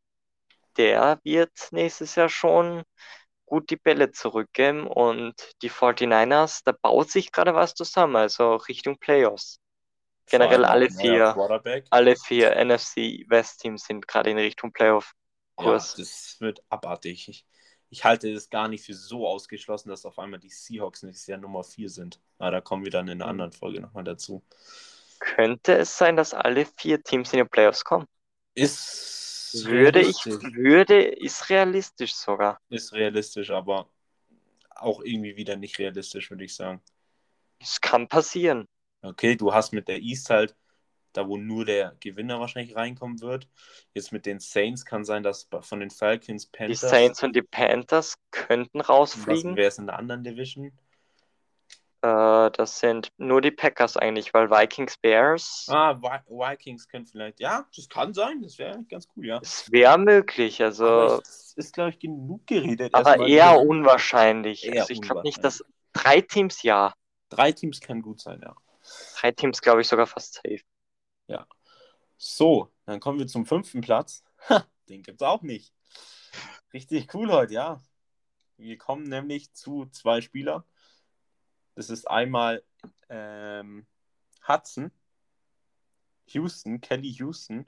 der wird nächstes Jahr schon gut die Bälle zurückgeben, und die 49ers, da baut sich gerade was zusammen, also Richtung Playoffs. Vor Generell allem auch neuer Quarterback. alle vier NFC West Teams sind gerade in Richtung Ja, Playoff-Kurs. das wird abartig. Ich halte es gar nicht für so ausgeschlossen, dass auf einmal die Seahawks nächstes Jahr Nummer 4 sind. Aber da kommen wir dann in einer anderen Folge nochmal dazu. Könnte es sein, dass alle vier Teams in die Playoffs kommen? Ist realistisch. Ist realistisch sogar. Ist realistisch, aber auch irgendwie wieder nicht realistisch, würde ich sagen. Es kann passieren. Okay, du hast mit der East halt, da wo nur der Gewinner wahrscheinlich reinkommen wird. Jetzt mit den Saints kann sein, dass von den Falcons, Die Panthers, Saints und die Panthers könnten was rausfliegen. wäre es in der anderen Division? Das sind nur die Packers eigentlich, weil Vikings, Bears, Vikings können vielleicht, ja, das kann sein, das wäre ganz cool, ja. es wäre möglich, Aber also, es ist, glaube ich, genug geredet aber erstmal über eher die. unwahrscheinlich. Also Eher ich glaube nicht, dass unwahrscheinlich. drei Teams, ja. 3 Teams kann gut sein, ja. Drei Teams glaube ich sogar fast safe. Ja. So, dann kommen wir zum 5. Platz. Ha, den gibt es auch nicht. Richtig cool heute, ja. Wir kommen nämlich zu 2 Spielern. Das ist einmal Hudson, Kelly Houston,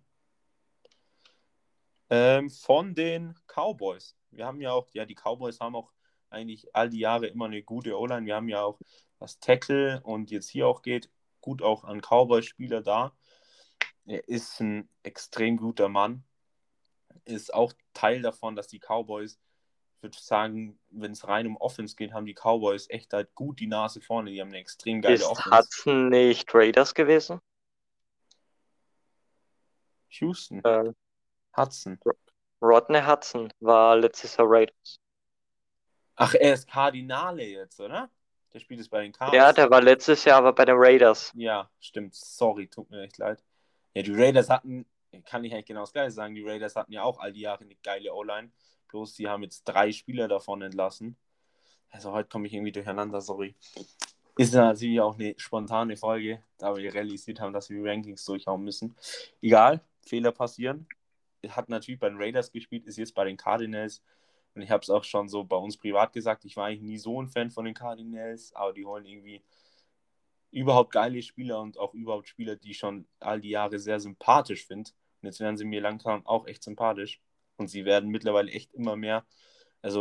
von den Cowboys. Wir haben ja auch, ja, die Cowboys haben auch eigentlich all die Jahre immer eine gute O-Line. Wir haben ja auch, was Tackle und jetzt hier auch geht, gut auch an Cowboys-Spieler da. Er ist ein extrem guter Mann. Ist auch Teil davon, dass die Cowboys, ich würde sagen, wenn es rein um Offense geht, haben die Cowboys echt halt gut die Nase vorne. Die haben eine extrem geile Ist Offense. Hudson nicht Raiders gewesen? Houston, Ähm, Hudson. Rodney Hudson war letztes Jahr Raiders. Ach, er ist Kardinale jetzt, oder? Der spielt es bei den Ja, Cards. der war letztes Jahr aber bei den Raiders. Ja, stimmt. Sorry, tut mir echt leid. Ja, die Raiders hatten, kann ich eigentlich genau das Gleiche sagen, die Raiders hatten ja auch all die Jahre eine geile O-Line. Bloß sie haben jetzt 3 Spieler davon entlassen. Also heute komme ich irgendwie durcheinander, sorry. Ist natürlich auch eine spontane Folge, da wir realisiert haben, dass wir Rankings durchhauen müssen. Egal, Fehler passieren. Hat natürlich bei den Raiders gespielt, ist jetzt bei den Cardinals. Und ich habe es auch schon so bei uns privat gesagt, ich war eigentlich nie so ein Fan von den Cardinals, aber die holen irgendwie überhaupt geile Spieler und auch überhaupt Spieler, die ich schon all die Jahre sehr sympathisch finde. Und jetzt werden sie mir langsam auch echt sympathisch. Und sie werden mittlerweile echt immer mehr. Also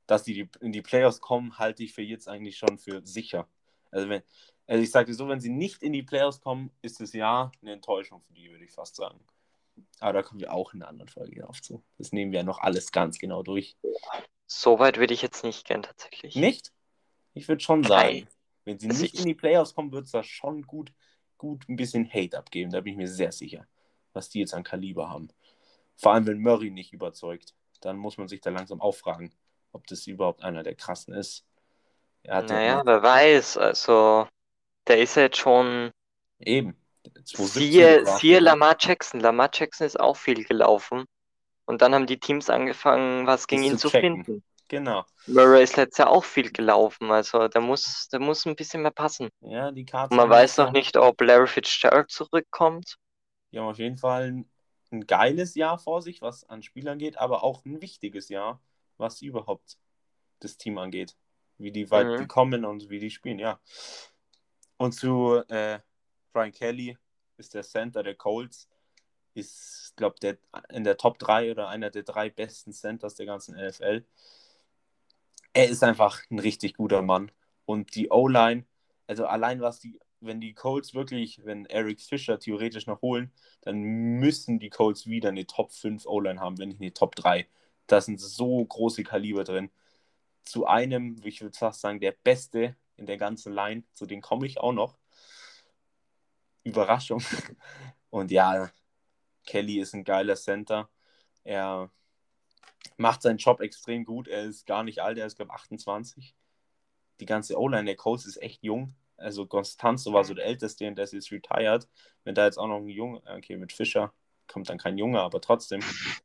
dass die in die Playoffs kommen, halte ich für jetzt eigentlich schon für sicher. Also ich sage so, wenn sie nicht in die Playoffs kommen, ist das Jahr eine Enttäuschung für die, würde ich fast sagen. Aber da kommen wir auch in einer anderen Folge drauf zu. Das nehmen wir ja noch alles ganz genau durch. So weit würde ich jetzt nicht gern tatsächlich. Nicht? Ich würde schon Nein. sagen, wenn sie Also nicht in die Playoffs kommen, wird es da schon gut ein bisschen Hate abgeben. Da bin ich mir sehr sicher, was die jetzt an Kaliber haben. Vor allem, wenn Murray nicht überzeugt. Dann muss man sich da langsam auffragen, ob das überhaupt einer der krassen ist. Er hat ja naja, wer weiß. Also, der ist ja jetzt schon. eben 2017 Siehe gedraftet. Ja. Lamar Jackson. Lamar Jackson ist auch viel gelaufen. Und dann haben die Teams angefangen, was gegen Ist ihn zu zu checken. finden. Genau. Murray ist letztes Jahr auch viel gelaufen. Also, der muss ein bisschen mehr passen. Ja, die Und Cards man haben weiß dieses noch Jahr, nicht, ob Larry Fitzgerald zurückkommt. die haben auf jeden Fall ein geiles Jahr vor sich, was an Spielern geht, aber auch ein wichtiges Jahr, was überhaupt das Team angeht. Wie die weit die Mhm. kommen und wie die spielen, ja. Und zu Brian Kelly ist der Center der Colts, ist, glaube ich, in der Top 3 oder einer der 3 besten Centers der ganzen NFL. Er ist einfach ein richtig guter Mann. Und die O-Line, also allein wenn die Colts wirklich, wenn Eric Fischer theoretisch noch holen, dann müssen die Colts wieder eine Top 5 O-Line haben, wenn nicht eine Top 3. Da sind so große Kaliber drin. Zu einem, ich würde fast sagen, der Beste in der ganzen Line, zu dem komme ich auch noch. Überraschung. Und ja, Kelly ist ein geiler Center. Er macht seinen Job extrem gut. Er ist gar nicht alt, er ist, glaube ich, 28. Die ganze O-Line der Colts ist echt jung. Also Constanzo war so der Älteste und der ist jetzt retired. Wenn da jetzt auch noch ein Junge, okay, mit Fischer kommt dann kein Junge, aber trotzdem.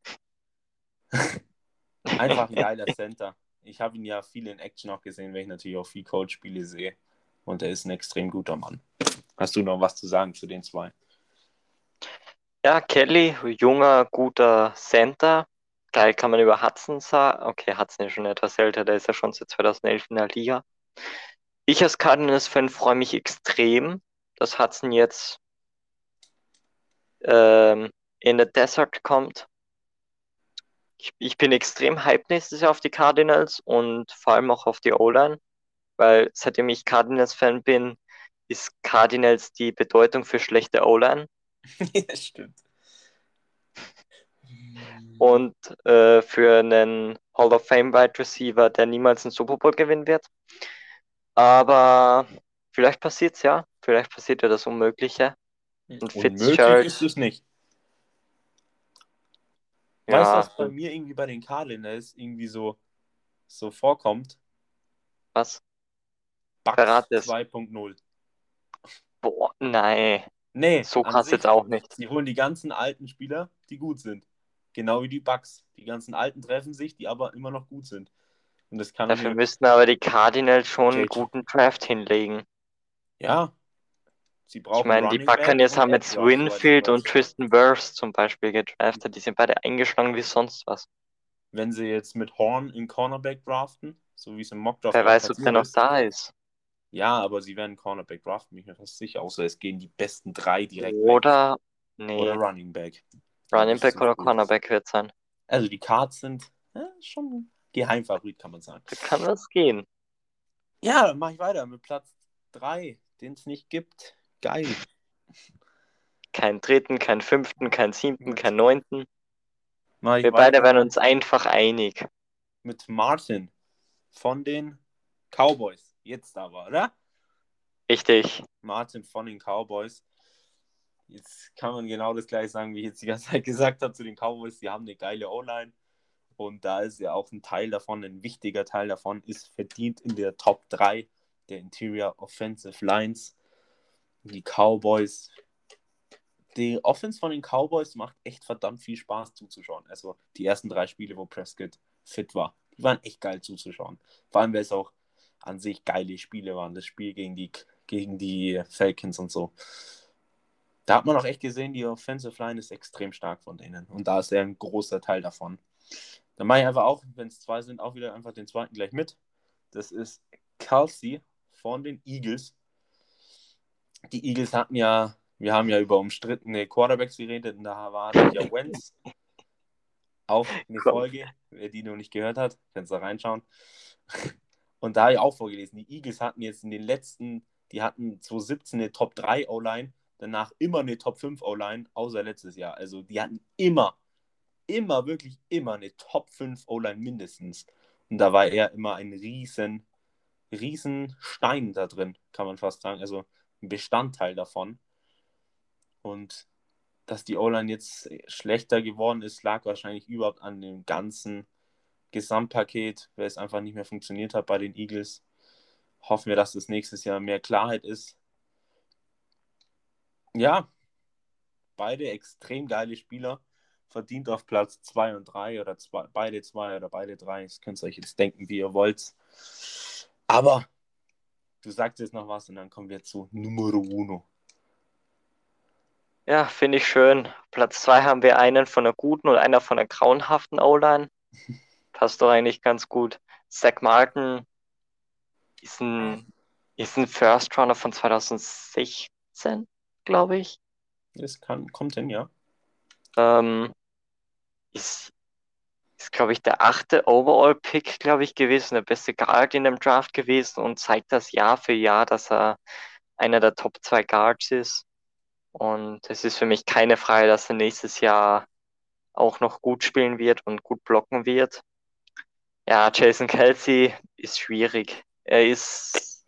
Einfach ein geiler Center. Ich habe ihn ja viel in Action auch gesehen, weil ich natürlich auch viel Coach-Spiele sehe. Und er ist ein extrem guter Mann. Hast du noch was zu sagen zu den zwei? Ja, Kelly, junger, guter Center. Geil kann man über Hudson sagen. Okay, Hudson ist schon etwas älter, der ist ja schon seit 2011 in der Liga. Ich als Cardinals-Fan freue mich extrem, dass Hudson jetzt ähm, in der Desert kommt. Ich bin extrem hyped nächstes Jahr auf die Cardinals und vor allem auch auf die O-Line, weil seitdem ich Cardinals-Fan bin, ist Cardinals die Bedeutung für schlechte O-Line. Ja, stimmt. Und für einen Hall of Fame Wide Receiver, der niemals einen Super Bowl gewinnen wird. Aber vielleicht passiert's ja. Vielleicht passiert ja das Unmögliche. Und Unmöglich ist Fitzgerald, es nicht. Weißt du, ja, was bei mir irgendwie bei den Cardinals irgendwie so vorkommt? was? Bucks Verrat es. 2.0. Boah, nein. Nee, So an krass jetzt sich auch nicht. nicht. Sie holen die ganzen alten Spieler, die gut sind. Genau wie die Bucks. Die ganzen alten treffen sich, die aber immer noch gut sind. Und das kann Dafür mir müssten aber die Cardinals schon einen JJ. guten Draft hinlegen. Ja, sie Ich brauchen meine, die Running Back Buccaneers und haben Edge jetzt Rush, soweit ich Winfield und weiß. Tristan Wirfs zum Beispiel gedraftet. Die sind beide eingeschlagen wie sonst was. Wenn sie jetzt mit Horn in Cornerback draften, so wie es im Mockdraft Wer ja auch weiß, ob der passiert noch ist. da ist. Ja, aber sie werden Cornerback draften, bin ich mir fast sicher. Außer es gehen die besten 3 direkt weg. Oder, Oder nee, Running Back. Dann Running ist es Back zu oder früh. Cornerback wird sein. Also die Cards sind schon Geheimfavorit, kann man sagen. Da kann was gehen. Ja, dann mache ich weiter mit Platz 3, den es nicht gibt. Geil. Kein dritten, kein fünften, kein siebten, Mit, kein neunten. mache ich Wir beide weiter werden uns einfach einig. mit Martin von den Cowboys. Jetzt aber, oder? Richtig. Martin von den Cowboys. Jetzt kann man genau das gleiche sagen, wie ich jetzt die ganze Zeit gesagt habe zu den Cowboys. Die haben eine geile O-Line. Und da ist ja auch ein Teil davon, ein wichtiger Teil davon, ist verdient in der Top 3 der Interior Offensive Lines. Die Cowboys. Die Offense von den Cowboys macht echt verdammt viel Spaß zuzuschauen. Also die ersten 3 Spiele, wo Prescott fit war, die waren echt geil zuzuschauen. Vor allem, weil es auch an sich geile Spiele waren. Das Spiel gegen die Falcons und so. Da hat man auch echt gesehen, die Offensive Line ist extrem stark von denen. Und da ist er ein großer Teil davon. Dann mache ich einfach auch, wenn es 2 sind, auch wieder einfach den zweiten gleich mit. Das ist Kelsey von den Eagles. Die Eagles wir haben ja über umstrittene Quarterbacks geredet und da hatte ich ja Wentz. auch eine Folge, wer die noch nicht gehört hat, kannst da reinschauen. Und da habe ich auch vorgelesen, die Eagles hatten jetzt in den letzten, die hatten 2017 eine Top 3 O-Line, danach immer eine Top 5 O-Line, außer letztes Jahr. Also die hatten immer, wirklich immer eine Top 5 O-Line mindestens. Und da war er immer ein riesen Stein da drin, kann man fast sagen. Also ein Bestandteil davon. Und dass die O-Line jetzt schlechter geworden ist, lag wahrscheinlich überhaupt an dem ganzen Gesamtpaket, weil es einfach nicht mehr funktioniert hat bei den Eagles. Hoffen wir, dass das nächstes Jahr mehr Klarheit ist. Ja, beide extrem geile Spieler. Verdient auf Platz 2 und 3 oder beide 2 oder beide 3. Das könnt ihr euch jetzt denken, wie ihr wollt. Aber du sagst jetzt noch was und dann kommen wir zu Numero Uno. Ja, finde ich schön. Platz 2 haben wir einen von der guten und einer von der grauenhaften O-Line. Passt doch eigentlich ganz gut. Zach Martin ist ein First Runner von 2016, glaube ich. Kommt hin, ja. Ähm, ist, glaube ich, der 8. Overall-Pick, glaube ich, gewesen, der beste Guard in dem Draft gewesen und zeigt das Jahr für Jahr, dass er einer der Top 2 Guards ist. Und es ist für mich keine Frage, dass er nächstes Jahr auch noch gut spielen wird und gut blocken wird. Ja, Jason Kelce ist schwierig. Er ist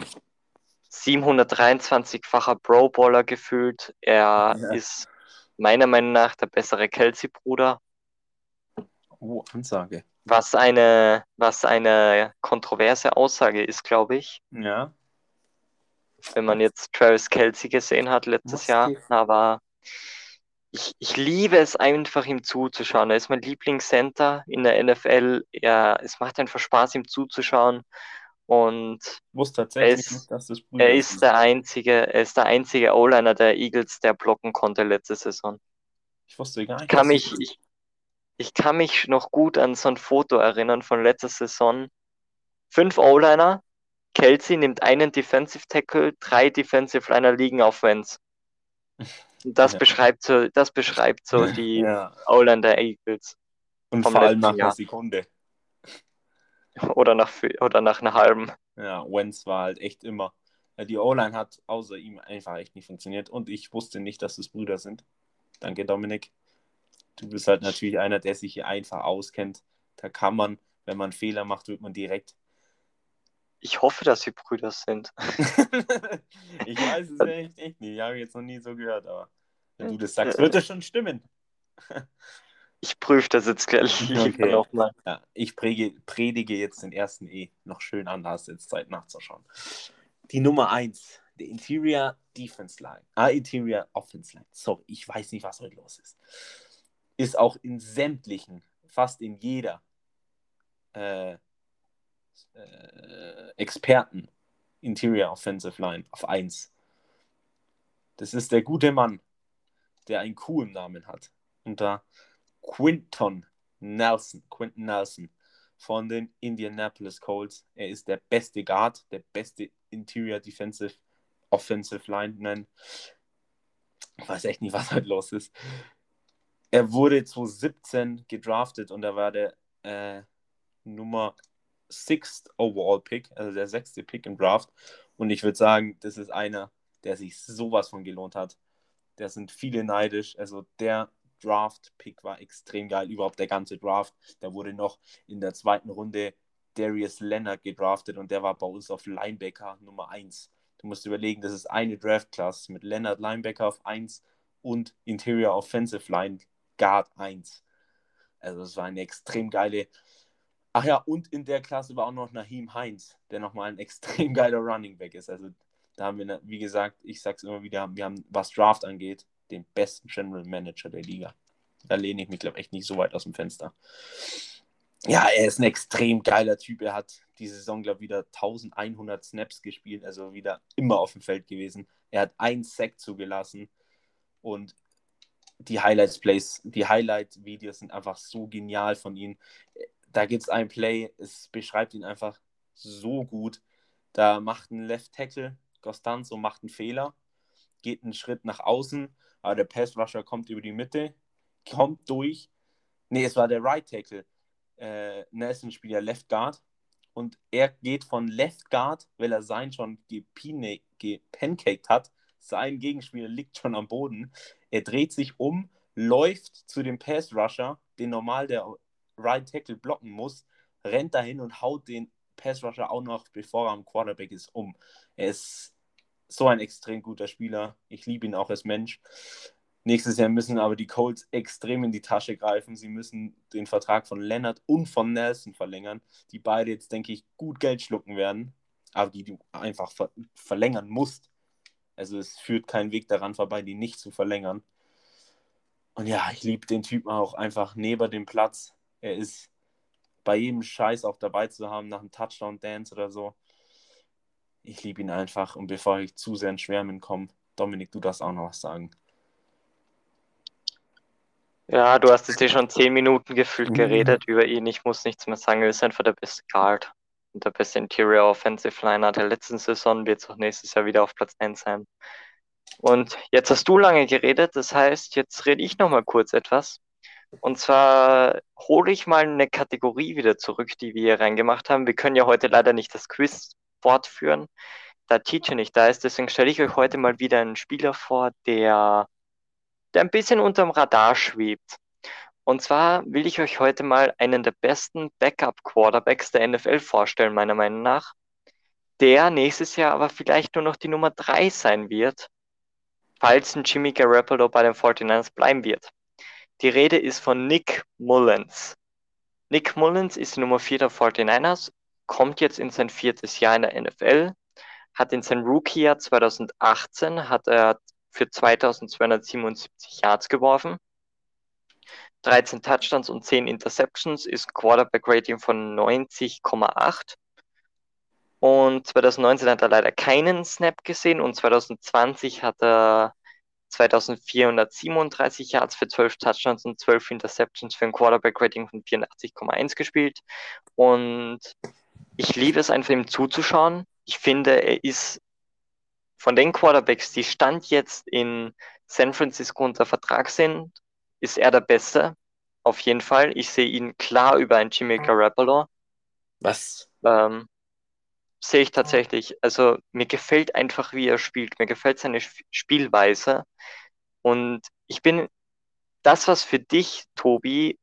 723-facher Pro-Bowler gefühlt. Er Ja. ist meiner Meinung nach der bessere Kelce-Bruder. Oh, Ansage. Was eine kontroverse Aussage ist, glaube ich, Ja. wenn man jetzt Travis Kelce gesehen hat letztes Was Jahr. geht? Aber ich liebe es einfach, ihm zuzuschauen. Er ist mein Lieblingscenter in der NFL. Es macht einfach Spaß, ihm zuzuschauen. Und Ich wusste er tatsächlich nicht, ist, dass das er Brüder ist sind. der einzige O-Liner der Eagles, der blocken konnte letzte Saison. Ich wusste gar Ich nicht, kann dass das. mich, ich, ich kann mich noch gut an so ein Foto erinnern von letzter Saison. 5 O-Liner, Kelce nimmt einen Defensive Tackle, 3 Defensive Liner liegen auf Vans. Und das Ja. beschreibt so die Ja. O-Line der Eagles Und vom vor allem letzten nach einer Jahr. Sekunde. Oder nach einer halben. Ja, Wentz war halt echt immer. Die O-Line hat außer ihm einfach echt nicht funktioniert. Und ich wusste nicht, dass das Brüder sind. Danke, Dominik. Du bist halt natürlich einer, der sich hier einfach auskennt. Da kann man, wenn man Fehler macht, wird man direkt. Ich hoffe, dass sie Brüder sind. Ich weiß es echt nicht. Ich habe jetzt noch nie so gehört, aber wenn du das sagst, wird das schon stimmen. Ich prüfe das jetzt gleich lieber Okay. nochmal. Ja, ich predige jetzt den ersten noch schön an, da hast du jetzt Zeit nachzuschauen. Die Nummer 1, der Interior Defense Line. Interior Offense Line. Sorry, ich weiß nicht, was heute los ist. Ist auch in sämtlichen, fast in jeder Experten Interior Offensive Line auf 1. Das ist der gute Mann, der einen coolen Namen hat. Und da Quinton Nelson von den Indianapolis Colts. Er ist der beste Guard, der beste Interior Defensive Offensive Lineman. Ich weiß echt nicht, was heute los ist. Er wurde 2017 gedraftet und er war der Nummer 6th Overall Pick, also der 6. Pick im Draft. Und ich würde sagen, das ist einer, der sich sowas von gelohnt hat. Da sind viele neidisch. Also der Draft-Pick war extrem geil, überhaupt der ganze Draft. Da wurde noch in der 2. Runde Darius Leonard gedraftet und der war bei uns auf Linebacker Nummer 1. Du musst überlegen, das ist eine Draft-Class mit Leonard Linebacker auf 1 und Interior Offensive Line Guard 1. Also das war eine extrem geile. Ach ja, und in der Klasse war auch noch Naheem Hines, der nochmal ein extrem geiler Running Back ist. Also da haben wir, wie gesagt, ich sag's immer wieder, wir haben, was Draft angeht, den besten General Manager der Liga. Da lehne ich mich, glaube ich, echt nicht so weit aus dem Fenster. Ja, er ist ein extrem geiler Typ. Er hat diese Saison, glaube ich, wieder 1100 Snaps gespielt, also wieder immer auf dem Feld gewesen. Er hat einen Sack zugelassen und die Highlight-Videos sind einfach so genial von ihm. Da gibt es ein Play, es beschreibt ihn einfach so gut. Da macht ein Left Tackle, Costanzo macht einen Fehler, geht einen Schritt nach außen, aber der Passrusher kommt über die Mitte, kommt durch, Nee, es war der Right Tackle. Nelson spielt ja Left Guard. Und er geht von Left Guard, weil er seinen schon gepancaked hat. Sein Gegenspieler liegt schon am Boden. Er dreht sich um, läuft zu dem Pass Rusher, den normal der Right Tackle blocken muss, rennt dahin und haut den Pass Rusher auch noch, bevor er am Quarterback ist, um. Er ist so ein extrem guter Spieler. Ich liebe ihn auch als Mensch. Nächstes Jahr müssen aber die Colts extrem in die Tasche greifen. Sie müssen den Vertrag von Leonard und von Nelson verlängern, die beide jetzt, denke ich, gut Geld schlucken werden, aber die du einfach verlängern musst. Also es führt kein Weg daran vorbei, die nicht zu verlängern. Und ja, ich liebe den Typen auch einfach neben dem Platz. Er ist bei jedem Scheiß auch dabei zu haben, nach einem Touchdown-Dance oder so. Ich liebe ihn einfach. Und bevor ich zu sehr ins Schwärmen komme, Dominik, du darfst auch noch was sagen. Ja, du hast jetzt schon 10 Minuten gefühlt geredet über ihn. Ich muss nichts mehr sagen. Er ist einfach der beste Guard und der beste Interior Offensive Liner der letzten Saison. Wird es auch nächstes Jahr wieder auf Platz 1 sein. Und jetzt hast du lange geredet. Das heißt, jetzt rede ich noch mal kurz etwas. Und zwar hole ich mal eine Kategorie wieder zurück, die wir hier reingemacht haben. Wir können ja heute leider nicht das Quiz fortführen, da Teacher nicht da ist. Deswegen stelle ich euch heute mal wieder einen Spieler vor, der ein bisschen unterm Radar schwebt. Und zwar will ich euch heute mal einen der besten Backup-Quarterbacks der NFL vorstellen, meiner Meinung nach, der nächstes Jahr aber vielleicht nur noch die Nummer 3 sein wird, falls ein Jimmy Garoppolo bei den 49ers bleiben wird. Die Rede ist von Nick Mullens. Nick Mullens ist die Nummer 4 der 49ers, kommt jetzt in sein 4. Jahr in der NFL, hat in seinem Rookie-Jahr 2018 hat er für 2277 Yards geworfen, 13 Touchdowns und 10 Interceptions, ist ein Quarterback-Rating von 90,8. Und 2019 hat er leider keinen Snap gesehen und 2020 hat er 2437 Yards für 12 Touchdowns und 12 Interceptions für ein Quarterback-Rating von 84,1 gespielt. Und ich liebe es einfach, ihm zuzuschauen. Ich finde, er ist von den Quarterbacks, die Stand jetzt in San Francisco unter Vertrag sind, ist er der Beste. Auf jeden Fall. Ich sehe ihn klar über einen Jimmy Garoppolo. Was? Sehe ich tatsächlich. Also mir gefällt einfach, wie er spielt. Mir gefällt seine Spielweise. Und ich bin das, was für dich, Tobi,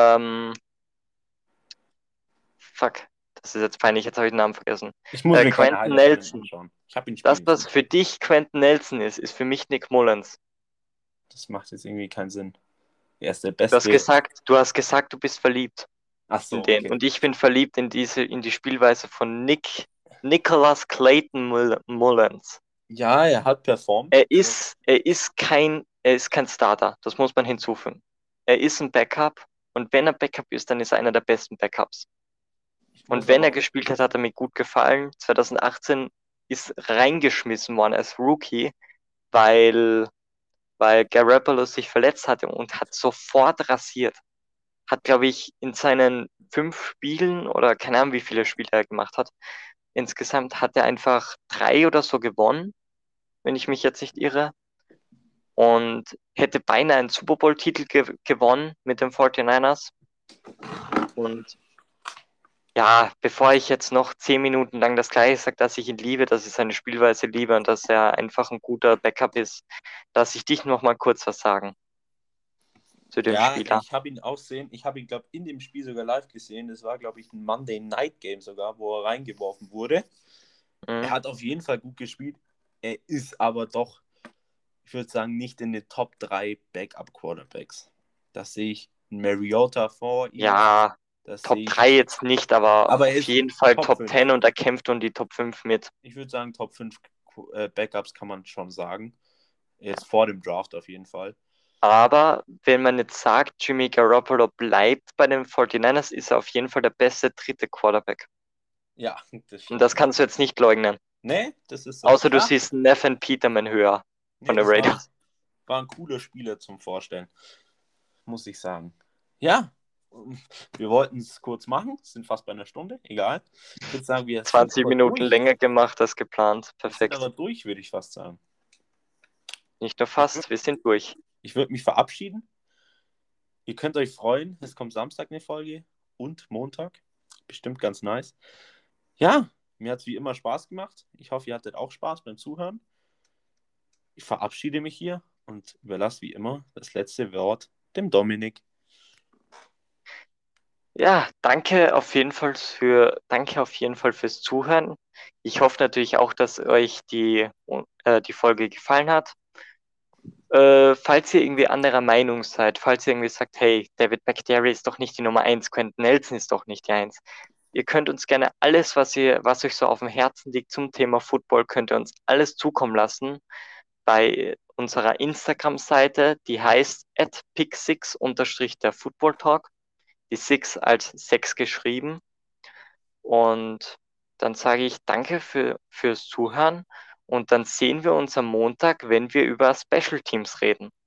fuck, das ist jetzt peinlich, jetzt habe ich den Namen vergessen. Ich muss mir keine Quentin Highlights Nelson. anschauen. Ich habe ihn Das, spielen was sehen. für dich Quentin Nelson ist für mich Nick Mullens. Das macht jetzt irgendwie keinen Sinn. Er ist der Du hast beste. gesagt, du bist verliebt Ach in so, den. okay. Und ich bin verliebt in die Spielweise von Nicholas Clayton Mullens. Ja, er hat performt. Er ist kein Starter. Das muss man hinzufügen. Er ist ein Backup. Und wenn er Backup ist, dann ist er einer der besten Backups. Ich Und muss wenn er aber, gespielt hat, hat er mir gut gefallen. 2018 ist reingeschmissen worden als Rookie, weil Garoppolo sich verletzt hatte und hat sofort rasiert. Hat, glaube ich, in seinen 5 Spielen oder keine Ahnung, wie viele Spiele er gemacht hat, insgesamt hat er einfach 3 oder so gewonnen, wenn ich mich jetzt nicht irre. Und hätte beinahe einen Super Bowl-Titel gewonnen mit den 49ers. Und ja, bevor ich jetzt noch 10 Minuten lang das Gleiche sage, dass ich ihn liebe, dass ich seine Spielweise liebe und dass er einfach ein guter Backup ist, dass ich dich noch mal kurz was sagen zu dem ja, Spieler. ich habe ihn auch sehen. Ich habe ihn, glaube ich, in dem Spiel sogar live gesehen. Das war, glaube ich, ein Monday Night Game sogar, wo er reingeworfen wurde. Er Mhm. hat auf jeden Fall gut gespielt. Er ist aber doch, ich würde sagen, nicht in den Top 3 Backup-Quarterbacks. Das sehe ich Mariota vor ihm. Ja, Das Top sehe 3 ich. jetzt nicht, aber Aber er auf ist jeden Fall Top Top 5. 10 und er kämpft um die Top 5 mit. Ich würde sagen, Top 5 Backups kann man schon sagen. Jetzt vor dem Draft auf jeden Fall. Aber wenn man jetzt sagt, Jimmy Garoppolo bleibt bei den 49ers, ist er auf jeden Fall der beste dritte Quarterback. Ja, das Und stimmt. das kannst du jetzt nicht leugnen. Nee, das ist so. Außer du Ja, siehst Nathan Peterman höher nee, von den das Raiders. war ein cooler Spieler zum Vorstellen. Muss ich sagen. Ja, wir wollten es kurz machen. Sind fast bei einer Stunde. Egal. Ich würde sagen, wir sind 20 aber Minuten durch. länger gemacht als geplant. Wir sind Perfekt. aber durch, würde ich fast sagen. Nicht nur fast, wir sind durch. Ich würde mich verabschieden. Ihr könnt euch freuen, es kommt Samstag eine Folge und Montag. Bestimmt ganz nice. Ja, mir hat es wie immer Spaß gemacht. Ich hoffe, ihr hattet auch Spaß beim Zuhören. Ich verabschiede mich hier und überlasse wie immer das letzte Wort dem Dominik. Ja, danke auf jeden Fall fürs Zuhören. Ich hoffe natürlich auch, dass euch die Folge gefallen hat. Falls ihr irgendwie anderer Meinung seid, falls ihr irgendwie sagt, hey, David Bakhtiari ist doch nicht die Nummer eins, Quentin Nelson ist doch nicht die eins. Ihr könnt uns gerne alles, was euch so auf dem Herzen liegt zum Thema Football, könnt ihr uns alles zukommen lassen bei unserer Instagram-Seite, die heißt @pick6_ der Football Talk, die Six als 6 geschrieben. Und dann sage ich danke fürs Zuhören und dann sehen wir uns am Montag, wenn wir über Special Teams reden.